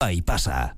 Ahí pasa.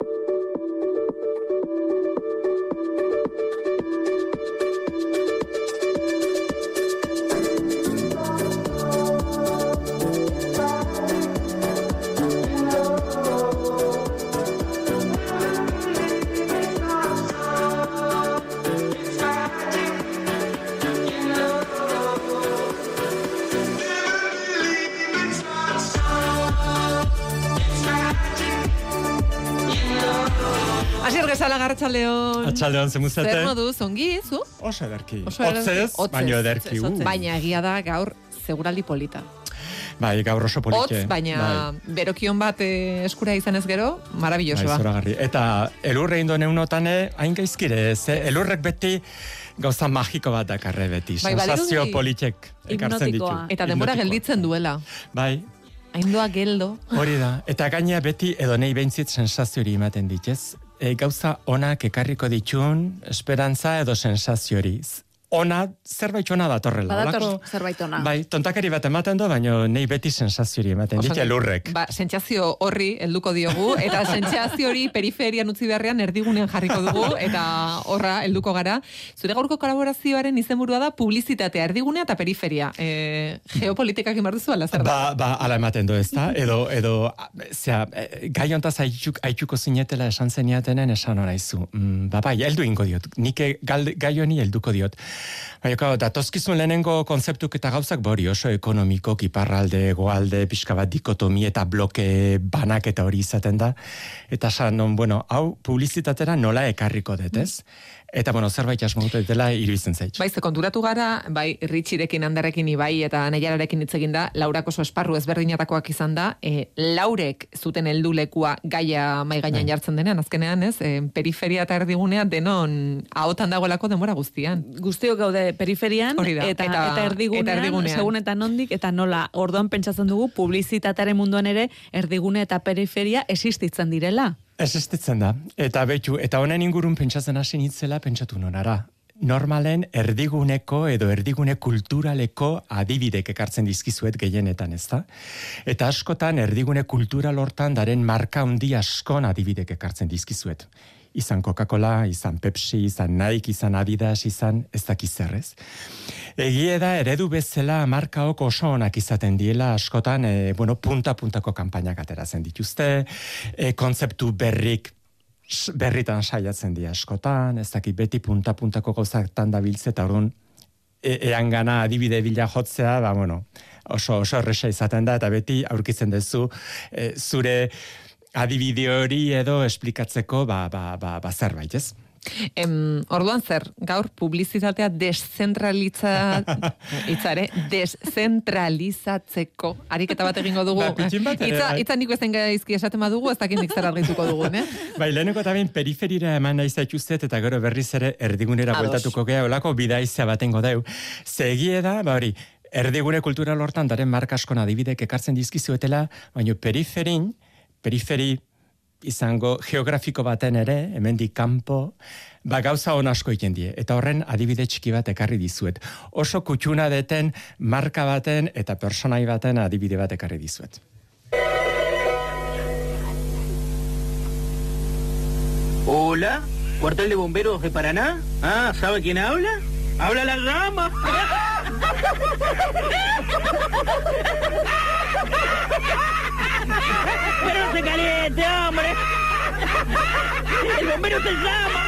Arratsaldeon, zemuzete? Zer moduz, ongi, zu? Oso ederki. Otzez, baino ederki. Baina egia da gaur seguraldi polita. Bai, gaur oso polite. Otz, baina berokion bat eskura izanez gero, marabillosoa. Bai, zoragarri. Eta elurre indo neunotane, hain gaizkire, elurrek beti gauza magiko bat dakarre beti. Sensazio politek ekartzen ditu. Eta denbora gelditzen duela. Bai. Haindoa geldo. Hori da. Eta gaina beti edo nahi behintzit sensazio hori ematen ditez. Gauza onak ekarriko ditun, esperantza edo sensazio hori. Ona, zerbait ona datorrela. Badator zerbait ona. Bai, tontakari bat ematen do, baina nahi beti sensazio hori ematen dit, elurrek. Ba, sentsazio horri helduko diogu, eta sentsazio hori periferian utzi beharrean erdigunean jarriko dugu, eta horra helduko gara. Zure gaurko kolaborazioaren izenburua da publizitatea, erdigunea eta periferia. Geopolitikak imarduzu, ala zer da? Ba, ala ematen do ez da, edo, gai hontaz haitxuko zinetela esan zeniatenen esan horaizu. Bai, heldu ingo diot, nik gai honi helduko diot. Baina, datozkizun lehenengo konzeptuk eta gauzak bori oso ekonomiko, iparralde, goalde, pixka bat dikotomi eta bloke banak eta hori izaten da. Eta hau publizitatera nola ekarriko detez. Eta, zerbait asmotu dela iruditzen zait. Bai, ze konturatu gara, bai, Richirekin, Anderrekin, Ibai eta Neiararekin hitz egin da, Laurak oso esparru ezberdinatakoak izan da, Laurek zuten heldulekua gaia mai gainean jartzen denean, azkenean, ez? Periferia eta erdigunea denon ahotan dagoelako denbora guztian. Guztiok gaude periferian eta erdigunean, segun eta nondik, eta nola, orduan pentsatzen dugu, publizitatearen munduan ere, erdigune eta periferia existitzen direla. Existitzen da, eta honen ingurun pentsatzen hasi nitzela pentsatu nonara. Normalen erdiguneko edo erdigune kulturaleko adibidek ekartzen dizkizuet gehienetan, ez da? Eta askotan erdigune kultural hortan daren marka handi askon adibidek ekartzen dizkizuet. Izan Coca-Cola, izan Pepsi, izan Nike, izan Adidas, izan ez dakiz zerrez. Egie da, eredu bezala markaok oso onak izaten diela askotan, punta-puntako kanpainak ateratzen dituzte, kontzeptu berritan saiatzen dira askotan, ez dakit beti punta-puntako gauzatan dabiltze, eta orduan ean gana adibide bila jotzea, oso erresa izaten da, eta beti aurkitzen duzu zure adibide hori edo esplikatzeko zerbait, ez? Orduan zer, gaur publizitatea deszentralizatzeko ariketa bat egingo dugu. Itza nik bezen gaizki esaten badugu, ez dakit nik zer argituko dugu, ne? Bai, leheneko eta ben periferira eman nahi zaituztet, eta gero berriz ere erdigunera bueltatuko gea, olako bidaizea batengo deu. Zegie da, erdigune kultural hortan daren marka askon adibidek ekartzen dizkizuetela, baina periferi izango geografiko baten ere, hemendik kanpo, gauza on asko egiten die. Eta horren adibide txiki bat ekarri dizuet. Oso kutxuna deten marka baten eta personai baten adibide bat ekarri dizuet. Hola, ¿cuartel de bomberos de Paraná? Ah, ¿sabe quién habla? ¡Habla la rama! ¡Pero no se caliente, hombre! ¡El bombero se llama!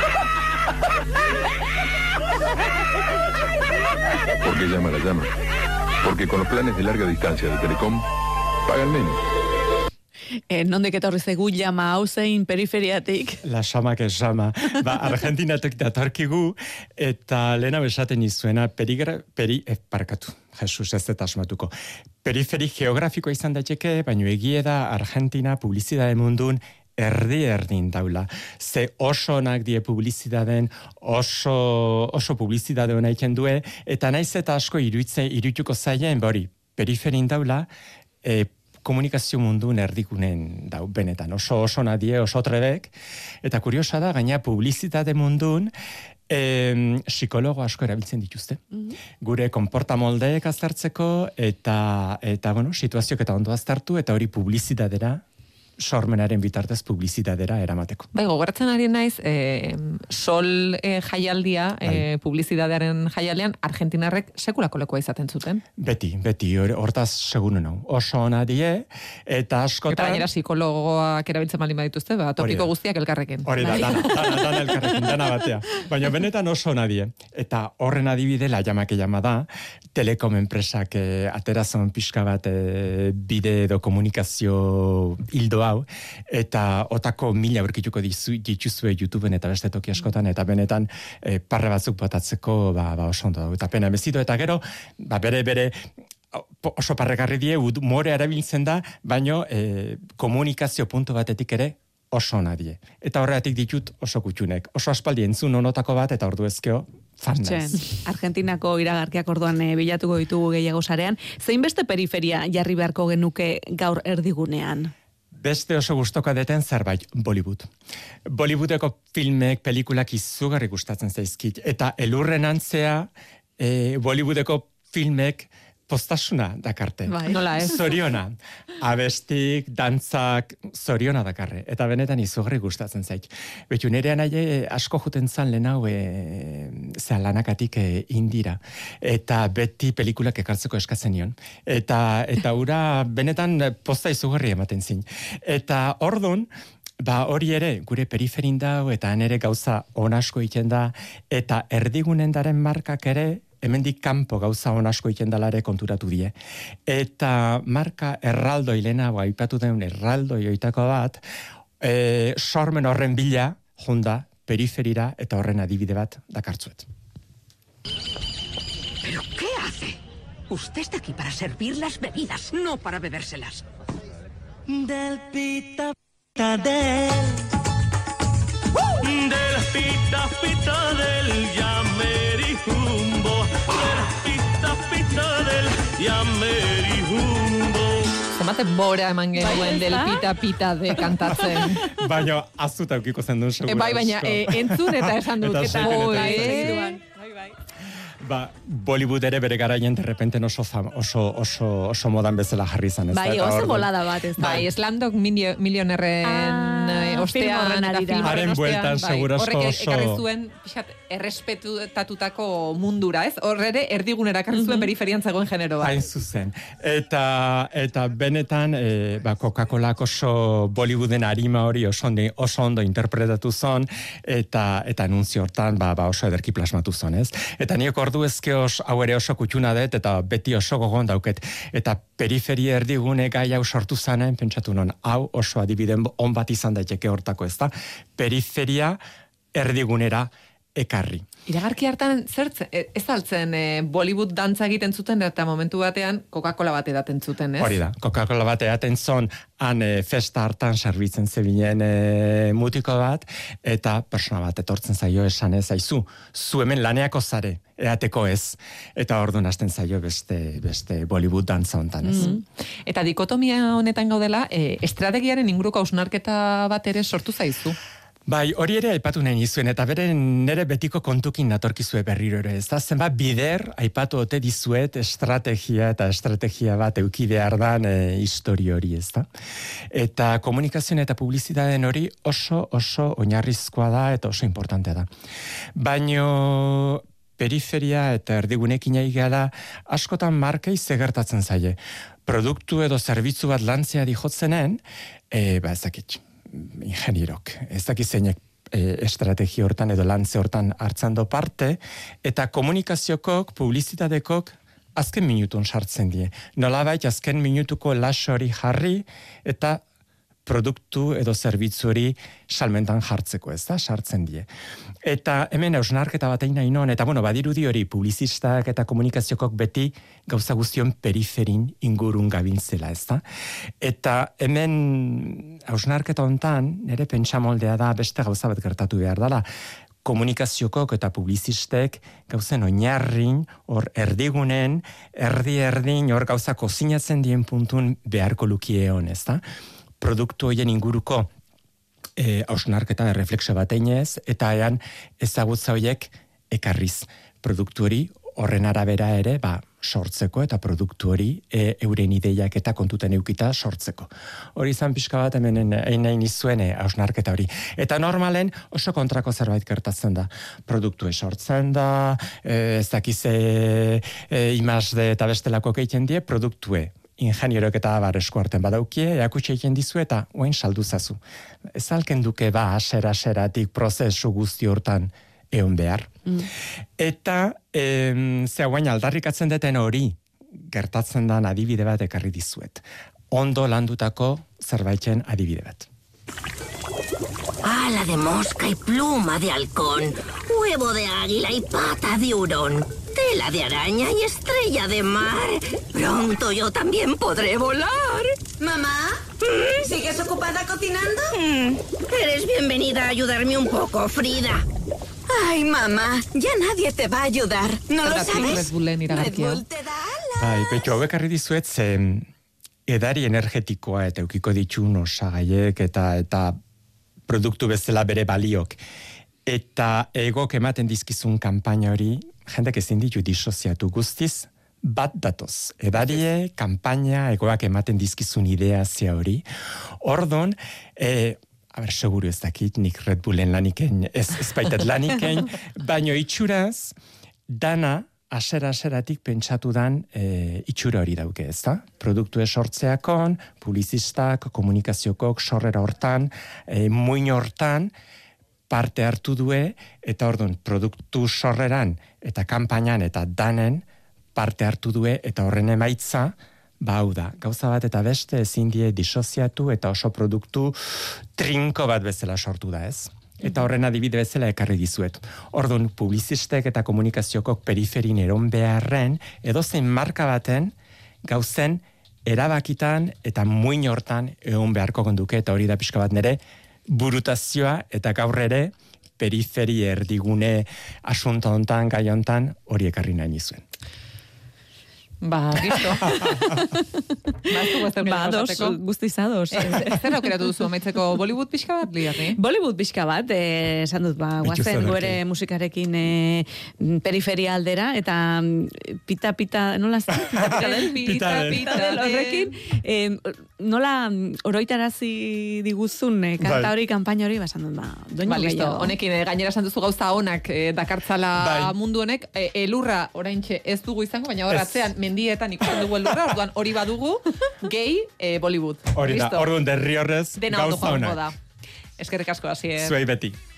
¿Por qué llama la llama? Porque con los planes de larga distancia de Telecom pagan menos. Nondik etorri zegu llama hau zein periferiatik? La xamak esama. Argentinatik datorkigu, eta lehena besaten izuena, parkatu, Jesus ez eta asmatuko. Periferi geografiko izan daiteke, baino egie da Argentina publizitate mundun erdin daula. Ze oso onak die publizitateen, oso publizitate hona egiten due, eta naiz eta asko irudituko zaien, periferin daula, komunikazio mundun erdigunen dau, benetan, oso nadie, oso trebek, eta kuriosa da, gaina publizitate mundun, psikologo asko erabiltzen dituzte. Gure konportamoldeek aztertzeko, eta situazioak eta ondo aztertu, eta hori publizitatera sormenaren bitartez publizitadera eramateko. Bai, gogoratzen ari naiz, sol jaialdia, publizitatearen jaialdean, argentinarrek sekulako lekoa izaten zuten. Beti, hortaz segunen hau. Oso ona die, eta askotan... Eta gainera psikologoak erabiltzen baldin badituzte, topiko guztiak elkarrekin. Hori da, dana elkarrekin, dana batea. Baina benetan oso ona die. Eta horren adibide, la llamake da, telekom enpresak aterazon pixka bat bide edo komunikazio hildo hau, eta otako 1000 aurkituko dituzue YouTubeen eta beste toki askotan, eta benetan parre batzuk botatzeko oso ondo dago. Eta pena emezito, eta gero, bere oso parregarri die, humore erabiltzen da, baino komunikazio puntu batetik ere oso ona die. Eta horregatik ditut oso kutxunek. Oso aspaldi entzun onotako bat, eta ordu ezkeo, fan naiz. Argentinako iragarkiak orduan bilatuko ditugu gehiago sarean. Zein beste periferia jarri beharko genuke gaur erdigunean? Beste oso gustoka deten zerbait, Bollywood. Bollywoodeko filmek, pelikulak izugarri gustatzen zaizkit. Eta elurren antzea, Bollywoodeko filmek postasuna dakarte. Nola ez? Zoriona. Abestik, dantzak, zoriona dakarre. Eta benetan izugarri gustatzen zait. Betu nerean asko juten zan lehen hau lanakatik indira. Eta beti pelikulak ekartzeko eskatzen nion. Eta ura benetan posta izugarri ematen zin. Eta ordun, hori ere, gure periferin dau, eta nere gauza onasko iten da, eta erdigunen daren markak ere, hemendik kanpo gauza onasko iten dalare konturatu die. Eta marka erraldoi lehena, aipatu den erraldoi oitako bat, sormen horren bila, jonda, periferira, eta horren adibide bat dakartzuet. ¿Pero qué hace? Usted está aquí para servir las bebidas, no para bebérselas. Del pita pita del pita pita del Yamerijumbo, del pita pita del Yamerijumbo. Zemate bora eman genuen del pita de kantatzen. Baina azuta eukiko zen duen segura. Baina entzun eta esan dut. Bollywood ere bere garaien derrepenten oso modan bezala jarri izan. Bai, oso bolada bat ez da. Bai, Slumdog Millionairearen ostean eta filmaren haren bueltan segurazko horrek ekarri zuen errespetatutako mundura, ez? Horre erdigunera ekarri zuen periferian zegoen genero bat. Hain zuzen. Eta benetan Coca-Colak oso Bollywooden arima hori oso ondo interpretatu zon, eta anunzio hortan oso ederki plasmatu zon, ez? Eta niok ordu ezkeos hau ere oso kutxuna dut, eta beti oso gogon dauket. Eta periferia erdigune gai hau sortu zanen, pentsatu non, hau oso adibiden on bat izan daiteke hortako, ez da? Periferia erdigunera ekarri. Iragarki hartan ez altzen Bollywood dantza egiten zuten, eta momentu batean Coca-Cola bat edaten zuten, ez? Hori da, Coca-Cola bat edaten zon, han festa hartan servitzen zebinen mutiko bat, eta persona bat etortzen zaio esan ez, aizu, zu hemen laneako zare, eateko ez, eta orduan hasten zaio beste Bollywood dantza hontan, ez? Eta dikotomia honetan gaudela, estrategiaren inguruko hausnarketa bat ere sortu zaizu? Bai, hori ere aipatu nahi nizuen, eta nere betiko kontukin natorkizue berriro ere, ez da? Zenbat bider aipatu ote dizuet estrategia bat euki behar dan histori hori, ez da? Eta komunikazioen eta publizitateen hori oso oinarrizkoa da eta oso importantea da. Baino periferia eta erdigunekin aigala askotan markei zegertatzen zaie. Produktu edo zerbitzu bat lantzea dijotzenen, ezakit, ingenierok, ez dakizeinek estrategia hortan edo lantze hortan hartzando parte, eta komunikaziokok, publizitatekok azken minutun sartzen die. Nolabait azken minutuko lasori jarri eta produktu edo zerbitzu hori salmentan jartzeko, ez da, sartzen die. Eta hemen hausnarketa bat egin nahi non, eta badirudi hori publizistak eta komunikaziokok beti gauza guztion periferin ingurun gabiltzela, ez da. Eta hemen hausnarketa hontan, nire pentsamoldea da beste gauza bat gertatu behar dela, komunikaziokok eta publizistek gauzen oinarrin, hor erdigunen, erdin, hor gauza kozinatzen dien puntun beharko lukie hon, ez da. Produktu horien inguruko hausnarketa erreflexio bat einez, eta ean ezagutza horiek ekarriz produktu hori horren arabera ere, sortzeko eta produktu hori euren ideiak eta kontuten eukita sortzeko. Hori izan pixka bat hemen nahi nizuen hausnarketa hori. Eta normalen oso kontrako zerbait gertatzen da. Produktu sortzen da, ez dakize imazde eta bestelako keiten die, produktue ingenierok eta abar eskuarten badaukie, eakutxe egin dizu eta oain salduzazu. Ez alken duke aseratik prozesu guzti hortan egon behar. Eta guain aldarrikatzen deten hori gertatzen dan adibide bat ekarri dizuet. Ondo landutako zerbaiten adibide bat. Ala de mosca y pluma de halcón, huevo de águila y pata de hurón, tela de araña y estrella de mar. Pronto yo también podré volar. ¿Mamá? ¿Sigues ocupada cocinando? Eres bienvenida a ayudarme un poco, Frida. Ay, mamá, ya nadie te va a ayudar. ¿No lo sabes? Red Bull te da alas. Betxo, hauek arri dizuet, edari energetikoa eta eukiko ditxun osagaiek eta produktu bezala bere baliok. Eta egok ematen dizkizun kanpaina hori, jendek ezin ditu disoziatu guztiz, bat datoz. Edarie, kanpaina, egoak ematen dizkizun ideazia hori. Ordon, seguru ez dakit, nik Red Bullen laniken, ez baitet laniken, baino itxuraz, dana, aseratik pentsatu dan itxura hori dauke, ez da? Produktu sortzeakon, publizistak, komunikaziokok, sorrera hortan, muin hortan, parte hartu due, eta ordon, produktu sorreran, eta kanpainan, eta danen, parte hartu due, eta horren emaitza, hau da, gauza bat eta beste ezin die disoziatu eta oso produktu trinko bat bezala sortu da, ez? Eta horren adibide bezala ekarri dizuet. Orduan, publizistek eta komunikaziokok periferin eron beharren, edozein marka baten gauzen erabakitan eta muin hortan egon beharko gonduke, eta hori da pixka bat nere burutazioa eta gaur ere periferi erdigune asunto hontan, gai hontan hori ekarri nahi nizuen. Gisto. Guztizados. Zer aukeratu duzu amaitzeko Bollywood pixka bat, liarri? Bollywood pixka bat, esan dut, guazen guere musikarekin periferia aldera, eta pita, nola zen? Pita del horrekin, nola oroitarazi diguzun kanta hori, kanpaina hori, esan dut, doinu gehiago. Honekin, gainera esan duzu gauza onak dakartzala mundu honek, elurra oraintxe ez dugu izango, baina horatzean mendietan ikusten dugu elurra, orduan hori badugu, gehi Bollywood. Hori da, orduan derri horrez gauza onak. Eskerrik asko, Asier. Zuei beti.